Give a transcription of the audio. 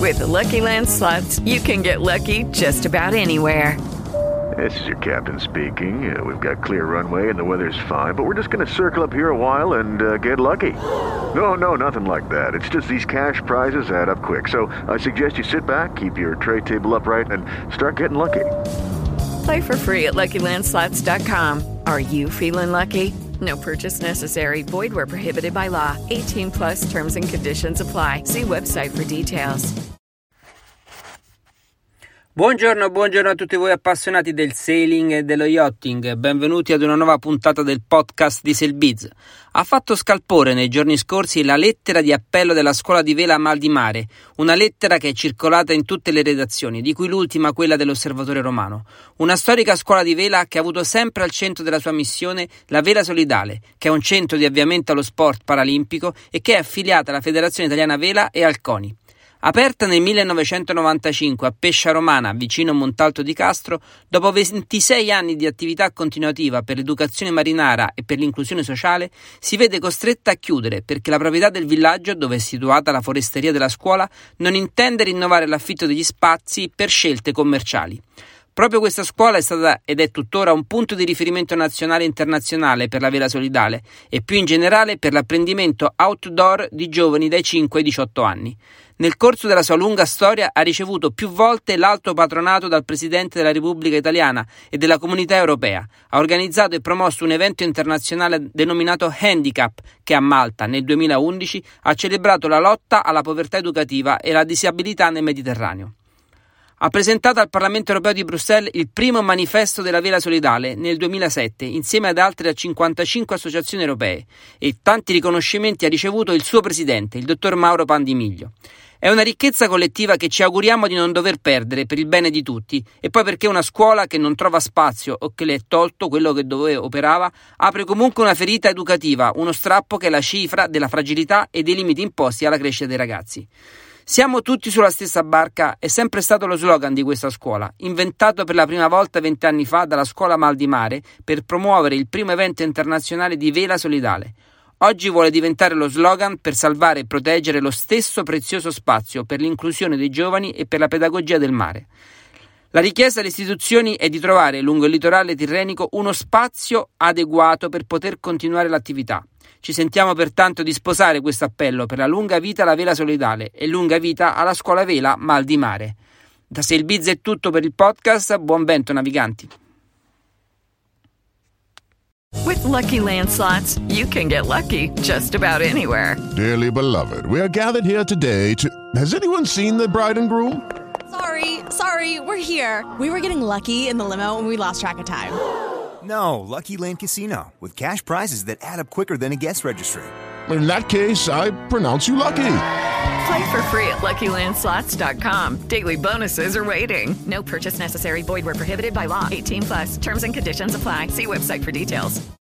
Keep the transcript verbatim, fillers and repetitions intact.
With the Lucky Land Slots, you can get lucky just about anywhere. This is your captain speaking. Uh, we've got clear runway and the weather's fine, but we're just going to circle up here a while and uh, get lucky. No, no, nothing like that. It's just these cash prizes add up quick. So I suggest you sit back, keep your tray table upright, and start getting lucky. Play for free at Lucky Land Slots dot com. Are you feeling lucky? No purchase necessary. Void where prohibited by law. eighteen plus terms and conditions apply. See website for details. Buongiorno, buongiorno a tutti voi appassionati del sailing e dello yachting. Benvenuti ad una nuova puntata del podcast di SailBiz. Ha fatto scalpore nei giorni scorsi la lettera di appello della scuola di vela Mal di Mare, una lettera che è circolata in tutte le redazioni, di cui l'ultima quella dell'Osservatore Romano. Una storica scuola di vela che ha avuto sempre al centro della sua missione la Vela Solidale, che è un centro di avviamento allo sport paralimpico e che è affiliata alla Federazione Italiana Vela e al CONI. Aperta nel millenovecentonovantacinque a Pescia Romana, vicino Montalto di Castro, dopo ventisei anni di attività continuativa per l'educazione marinara e per l'inclusione sociale, si vede costretta a chiudere perché la proprietà del villaggio, dove è situata la foresteria della scuola, non intende rinnovare l'affitto degli spazi per scelte commerciali. Proprio questa scuola è stata ed è tuttora un punto di riferimento nazionale e internazionale per la vela solidale e più in generale per l'apprendimento outdoor di giovani dai cinque ai diciotto anni. Nel corso della sua lunga storia ha ricevuto più volte l'alto patronato dal Presidente della Repubblica Italiana e della Comunità Europea. Ha organizzato e promosso un evento internazionale denominato Handicap, che a Malta nel duemilaundici ha celebrato la lotta alla povertà educativa e la disabilità nel Mediterraneo. Ha presentato al Parlamento europeo di Bruxelles il primo manifesto della vela solidale nel duemilasette, insieme ad altre cinquantacinque associazioni europee, e tanti riconoscimenti ha ricevuto il suo presidente, il dottor Mauro Pandimiglio. È una ricchezza collettiva che ci auguriamo di non dover perdere per il bene di tutti, e poi perché una scuola che non trova spazio o che le è tolto quello che dove operava apre comunque una ferita educativa, uno strappo che è la cifra della fragilità e dei limiti imposti alla crescita dei ragazzi. Siamo tutti sulla stessa barca è sempre stato lo slogan di questa scuola, inventato per la prima volta vent'anni fa dalla scuola Mal di Mare per promuovere il primo evento internazionale di vela solidale. Oggi vuole diventare lo slogan per salvare e proteggere lo stesso prezioso spazio per l'inclusione dei giovani e per la pedagogia del mare. La richiesta alle istituzioni è di trovare lungo il litorale tirrenico uno spazio adeguato per poter continuare l'attività. Ci sentiamo pertanto di sposare questo appello per la lunga vita alla vela solidale e lunga vita alla scuola vela Mal di Mare. Da SailBiz è tutto per il podcast, buon vento naviganti. With Lucky Land Slots, you can get lucky just about anywhere. Dearly beloved, we are gathered here today to... Has anyone seen the bride and groom? Sorry, sorry, we're here. We were getting lucky in the limo and we lost track of time. No, Lucky Land Casino, with cash prizes that add up quicker than a guest registry. In that case, I pronounce you lucky. Play for free at Lucky Land Slots dot com. Daily bonuses are waiting. No purchase necessary. Void where prohibited by law. eighteen plus. Terms and conditions apply. See website for details.